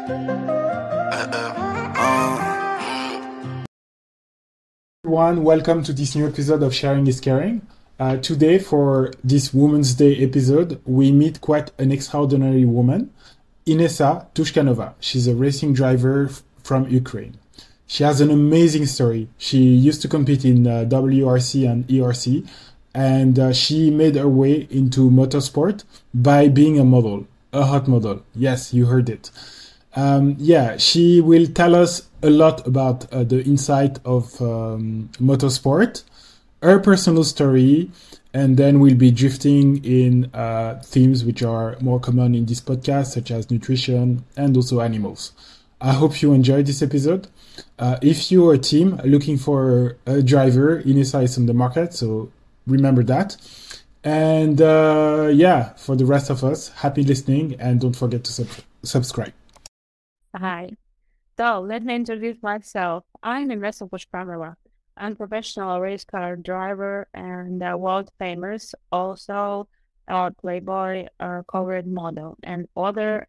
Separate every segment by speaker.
Speaker 1: Everyone, welcome to this new episode of Sharing is Caring. Today, for this Women's Day episode, we meet quite an extraordinary woman, Inessa Tushkanova. She's a racing driver from Ukraine. She has an amazing story. She used to compete in WRC and ERC, and she made her way into motorsport by being a model, a hot model. Yes, you heard it. She will tell us a lot about the insight of motorsport, her personal story, and then we'll be drifting in themes which are more common in this podcast, such as nutrition and also animals. I hope you enjoyed this episode. If you're a team looking for a driver, Inessa is on the market, so remember that. And for the rest of us, happy listening, and don't forget to subscribe.
Speaker 2: Hi. So let me introduce myself. I'm Inessa Tushkanova. I'm a professional race car driver and world famous, also a Playboy covered model and other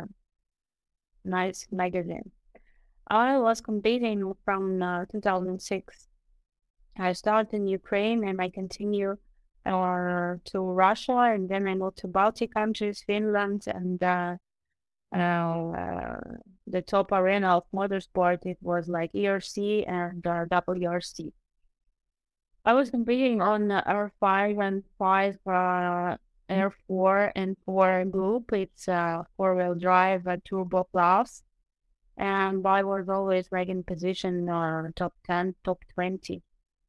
Speaker 2: nice magazine. I was competing from 2006. I started in Ukraine and I continue to Russia, and then I moved to Baltic countries, Finland, and the top arena of motorsport, it was like ERC and WRC. I was competing on R5 and 5 R4 and 4 group. It's 4-wheel drive turbo class, and I was always like in position top 10, top 20.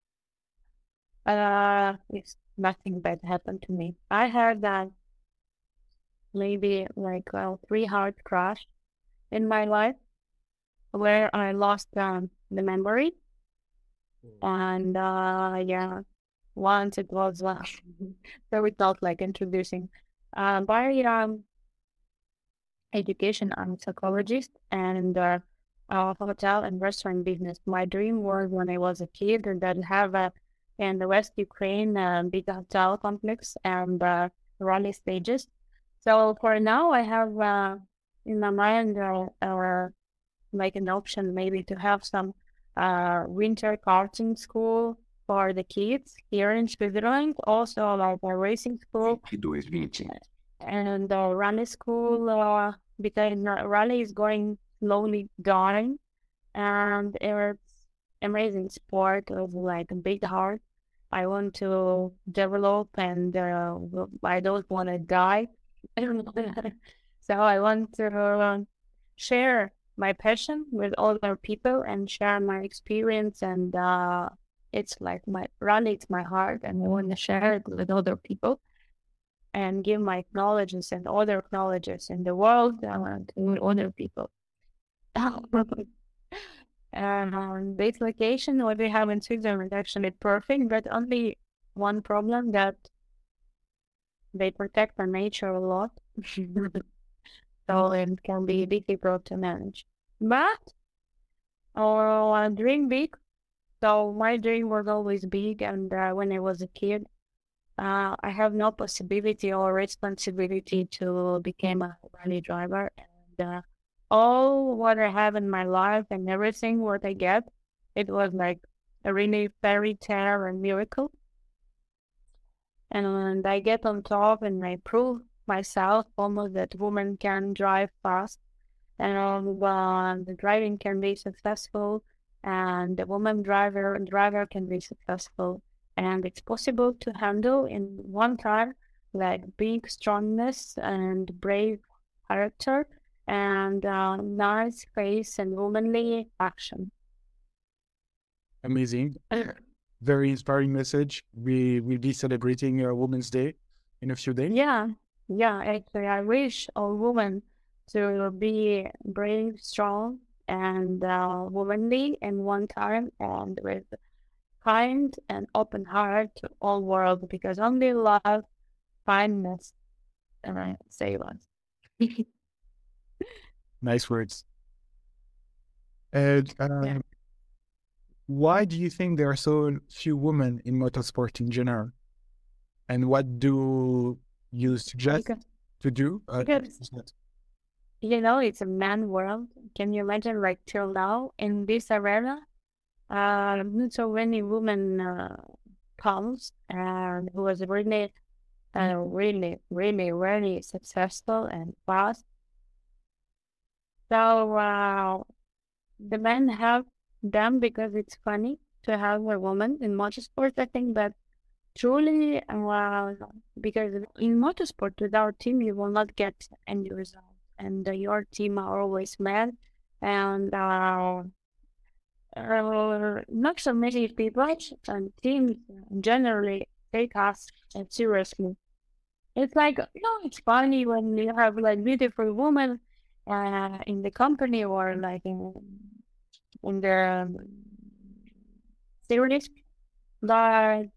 Speaker 2: It's nothing bad happened to me. I had that maybe like 3 hard crash in my life where I lost the memory, and once it was so without like introducing by education, I'm a psychologist and hotel and restaurant business. My dream was when I was a kid that have in the West Ukraine big hotel complex and rally stages. So for now, I have in my mind like an option maybe to have some winter karting school for the kids here in Switzerland. Also like a racing school and rally school because rally is going slowly dying, and it's amazing sport with like a big heart. I want to develop, and I don't want to die. So I want to share my passion with other people and share my experience, and it's like my rally, it's my heart, and I want to share it with other people and give my knowledges and other knowledges in the world to other people. This location, what we have in Switzerland, actually perfect, but only one problem that they protect the nature a lot. So it can be difficult to manage. But I dream big. So my dream was always big, and when I was a kid, I have no possibility or responsibility to become a rally driver. And all what I have in my life and everything what I get, it was like a really fairy tale and miracle. And I get on top and I prove myself almost that women can drive fast, and the driving can be successful, and the woman driver can be successful, and it's possible to handle in one time like big strongness and brave character and nice face and womanly action.
Speaker 1: Amazing. Very inspiring message. We will be celebrating Women's Day in a few days.
Speaker 2: Yeah, actually, I wish all women to be brave, strong, and womanly in one time, and with kind and open heart to all world, because only love, kindness, and save us.
Speaker 1: Nice words. And why do you think there are so few women in motorsport in general? And what do you suggest to do?
Speaker 2: it's a man world. Can you imagine, like, till now in this arena, not so many women comes and who was really, really successful and fast. So the men have them because it's funny to have a woman in motorsport, I think, but truly, because in motorsport, without team, you will not get any result. And your team are always men, and not so many people and teams generally take us seriously. It's like, it's funny when you have like beautiful women in the company or like in the series, but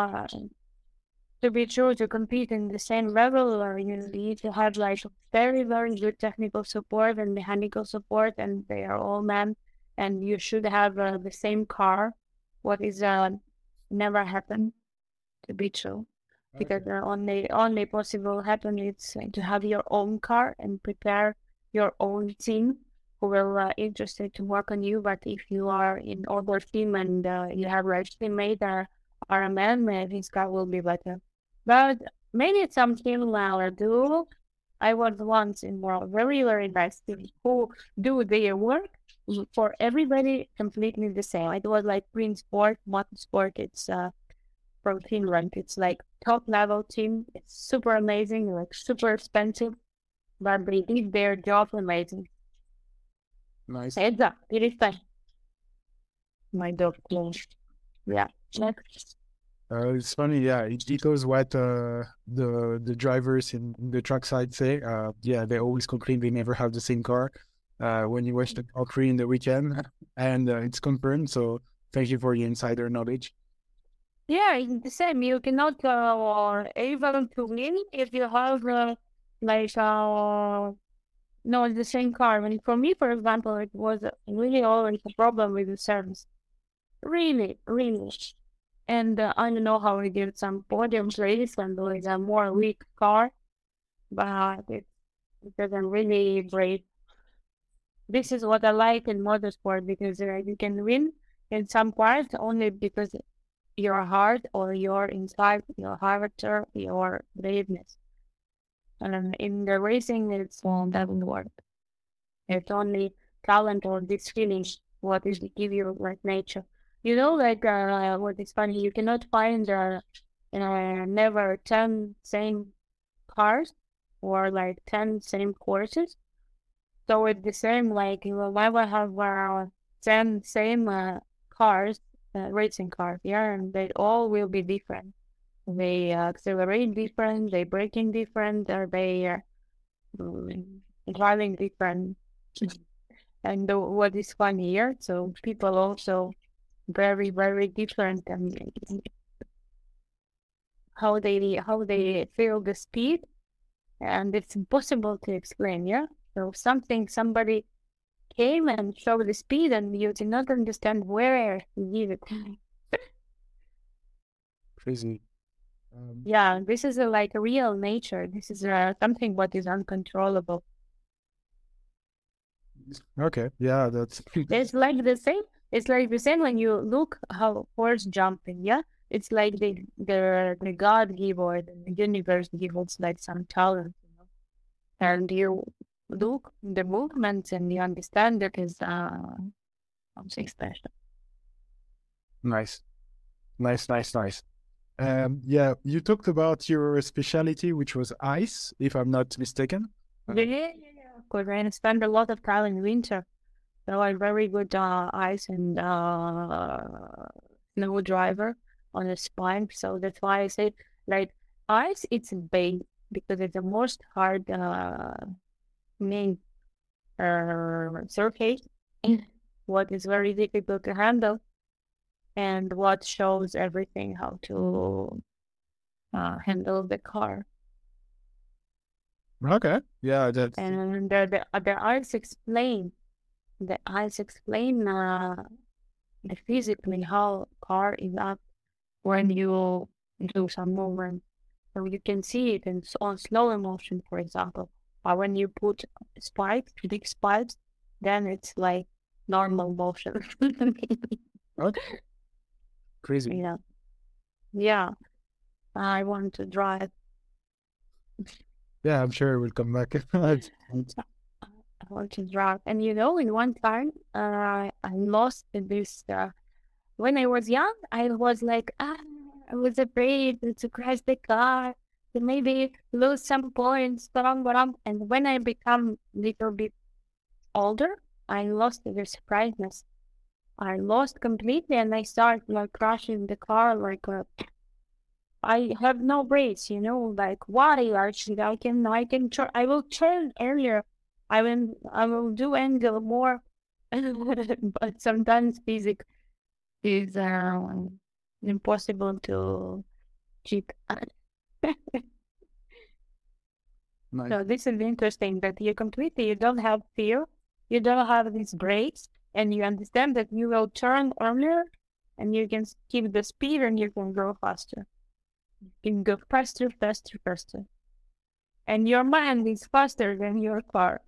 Speaker 2: to be true, to compete in the same level, or you need to have like very, very good technical support and mechanical support, and they are all men, and you should have the same car. What is never happened to be true, because
Speaker 1: Okay.
Speaker 2: the only possible happen is to have your own car and prepare your own team who will interested to work on you. But if you are in other team and you have like teammate are a man, maybe his car will be better. But maybe some team do. I was once in a very, very nice team who do their work for everybody completely the same. It was like Green Sport, Motorsport. It's from Finland. It's like top level team. It's super amazing, like super expensive, but they did their job amazing.
Speaker 1: Nice.
Speaker 2: Heads up, it is time. My dog closed. Yeah. Next.
Speaker 1: It's funny, yeah. It echoes what the drivers in the track side say. Yeah, they always complain they never have the same car. When you watch the Grand Prix in the weekend, and it's confirmed. So thank you for the insider knowledge.
Speaker 2: Yeah, it's the same. You cannot able to win if you have like no, the same car. I mean, for me, for example, it was really always a problem with the service. Really, really. And I don't know how we did some podiums race and there is a more weak car, but it doesn't really break. This is what I like in motorsport because you can win in some parts only because your heart or your inside, your character, your braveness. And in the racing, it's doesn't work. It's only talent or this feeling what is give you like nature. Like what is funny, you cannot find never 10 same cars or like 10 same courses. So it's the same, like you will never have 10 same cars, racing cars, yeah, and they all will be different. They accelerate different, they braking different, or they driving different. And what is funny here, so people also very, very different and how they feel the speed, and it's impossible to explain, yeah. So somebody came and showed the speed, and you did not understand where he did it.
Speaker 1: Crazy.
Speaker 2: Yeah, this is like a real nature. This is something what is uncontrollable.
Speaker 1: Okay, yeah, that's
Speaker 2: It's like the same. It's like the same when you look how horse jumping. Yeah, it's like the God give or the universe give us like some talent, and you look the movements and you understand that is something special.
Speaker 1: nice, nice, nice, nice. Yeah, you talked about your specialty, which was ice, if I'm not mistaken.
Speaker 2: Yeah. Of course, I spend a lot of time in winter, so I'm very good ice and snow driver on a spine. So that's why I say like ice. It's a base because it's the most hard main surface. What is very difficult to handle and what shows everything how to handle the car.
Speaker 1: Okay, yeah, that's
Speaker 2: And the eyes explain the physically how car is up when you do some movement. So you can see it on slow motion, for example. When you put spikes, big spikes, then it's like normal motion.
Speaker 1: Okay. Crazy.
Speaker 2: Yeah. Yeah. I want to drive.
Speaker 1: Yeah, I'm sure we'll come back.
Speaker 2: I want to drive. And in one time, I lost this. When I was young, I was like, I was afraid to crash the car, to maybe lose some points, blah. And when I become a little bit older, I lost the surpriseness. I lost completely, and I started like crashing the car. Like I have no brakes, Like why? Actually, I will turn earlier. I will do angle more, but sometimes physics is impossible to cheat.
Speaker 1: Nice.
Speaker 2: So this is interesting that you don't have fear, you don't have these brakes, and you understand that you will turn earlier, and you can keep the speed, and you can go faster. You can go faster, faster, faster, and your mind is faster than your car.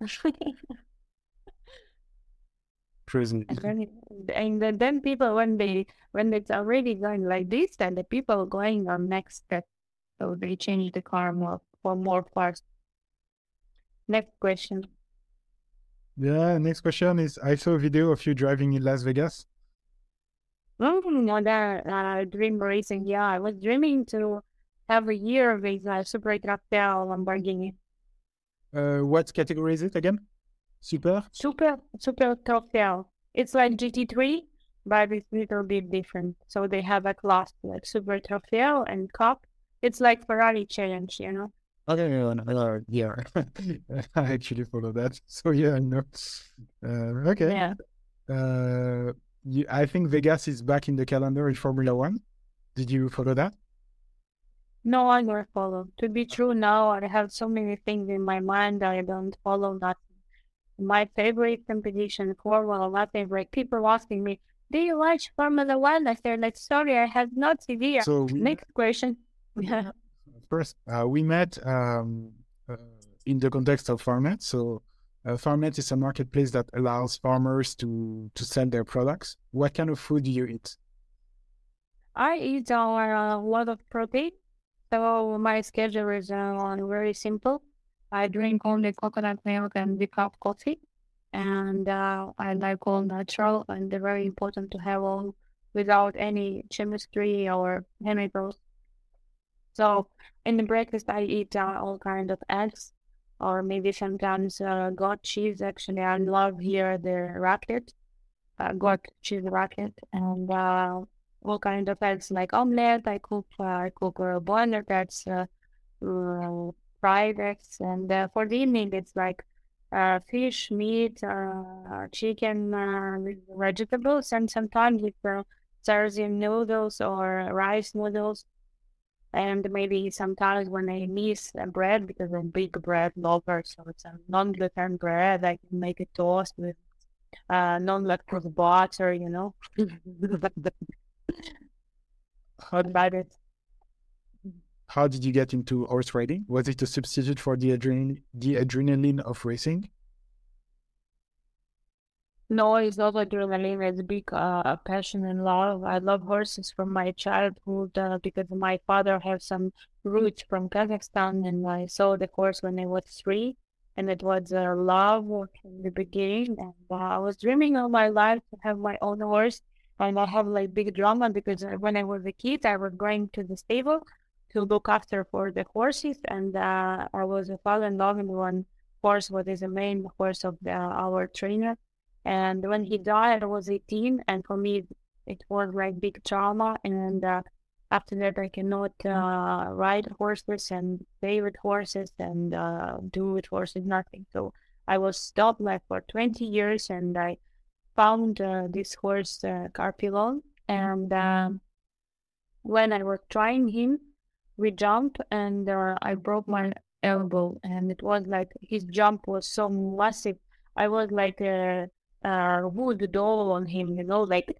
Speaker 1: Crazy.
Speaker 2: And then people when it's already going like this, and the people going on next step, so they change the car more fast. Next question.
Speaker 1: Yeah, next question is I saw a video of you driving in Las Vegas.
Speaker 2: That dream racing. Yeah, I was dreaming to have a year with a Super Trofeo Lamborghini.
Speaker 1: What category is it again? Super?
Speaker 2: Super Trofeo. It's like GT3, but it's a little bit different. So they have a class like Super Trofeo and Cup. It's like Ferrari Challenge,
Speaker 1: Okay, no, yeah. I actually follow that. So yeah, I know. Okay.
Speaker 2: Yeah.
Speaker 1: I think Vegas is back in the calendar in Formula One. Did you follow that?
Speaker 2: No, I never follow. To be true, now I have so many things in my mind that I don't follow nothing. My favorite competition, Formula, my favorite. People asking me, do you watch Formula One? I said, like, sorry, I have no idea.
Speaker 1: So
Speaker 2: Next question.
Speaker 1: first, we met in the context of Farmnet. So Farmnet is a marketplace that allows farmers to sell their products. What kind of food do you eat?
Speaker 2: I eat a lot of protein, so my schedule is very simple. I drink only coconut milk and decaf coffee, and I like all natural, and they're very important to have all without any chemistry or chemicals. So in the breakfast, I eat all kind of eggs, or maybe sometimes goat cheese. Actually, I love here the raclette, goat cheese raclette, and all kind of eggs like omelette. I cook boiler that's fried eggs, and for the evening it's like fish, meat, chicken, with vegetables, and sometimes it's Sardian noodles or rice noodles. And maybe sometimes when I miss bread, because I'm a big bread lover, so it's a non-gluten bread, I can make a toast with non-lactose butter,
Speaker 1: How did,
Speaker 2: about it.
Speaker 1: how did you get into horse riding? Was it a substitute for the adrenaline of racing?
Speaker 2: No, it's not adrenaline. It's big passion and love. I love horses from my childhood because my father has some roots from Kazakhstan, and I saw the horse when I was 3, and it was love from the beginning. And I was dreaming all my life to have my own horse, and I have like big drama because when I was a kid, I was going to the stable to look after for the horses, and I was fall in love with one horse, what is the main horse of our trainer. And when he died, I was 18, and for me, it was like big trauma. And after that, I cannot ride horses and play with horses and do with horses nothing. So I was stopped like for 20 years, and I found this horse, Carpilon. And when I was trying him, we jumped, and I broke my elbow, and it was like his jump was so massive. I was like wood doll on him, like.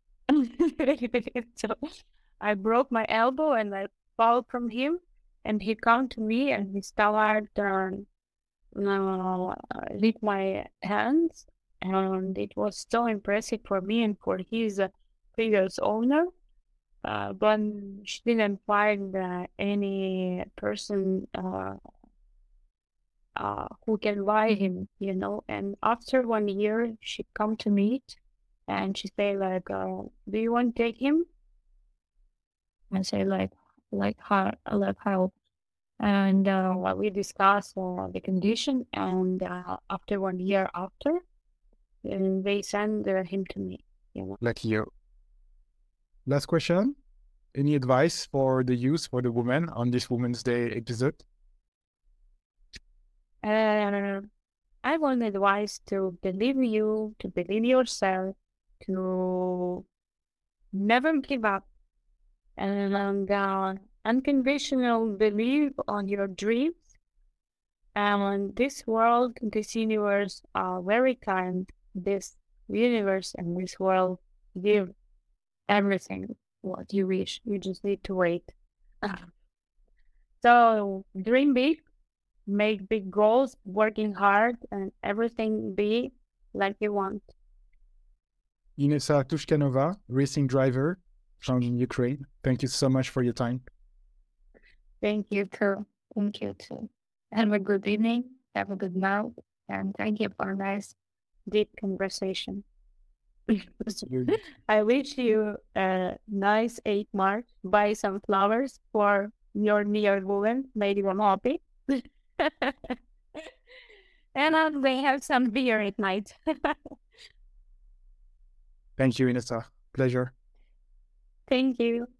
Speaker 2: So I broke my elbow, and I fell from him, and he come to me, and he started lead my hands, and it was so impressive for me and for his previous owner. But she didn't find any person who can buy him, you know. And after 1 year, she come to meet, and she say like, "Do you want to take him?" I say like how, and we discuss the condition, and after 1 year after, and they send him to me, you know.
Speaker 1: Like you. Last question. Any advice for the youth, for the women on this Women's Day episode?
Speaker 2: I want advice to believe you, to believe yourself, to never give up, and unconditional believe on your dreams. And this world, this universe are very kind. This universe and this world give everything what you wish. You just need to wait. So dream big, make big goals, working hard, and everything be like you want.
Speaker 1: Inessa Tushkanova, racing driver from Ukraine. Thank you so much for your time.
Speaker 2: Thank you too. Thank you too. Have a good evening. Have a good night. And thank you for a nice, deep conversation. I wish you a nice 8 March. Buy some flowers for your near woman. Made you happy. And they have some beer at night.
Speaker 1: Thank you, Inessa. Pleasure.
Speaker 2: Thank you.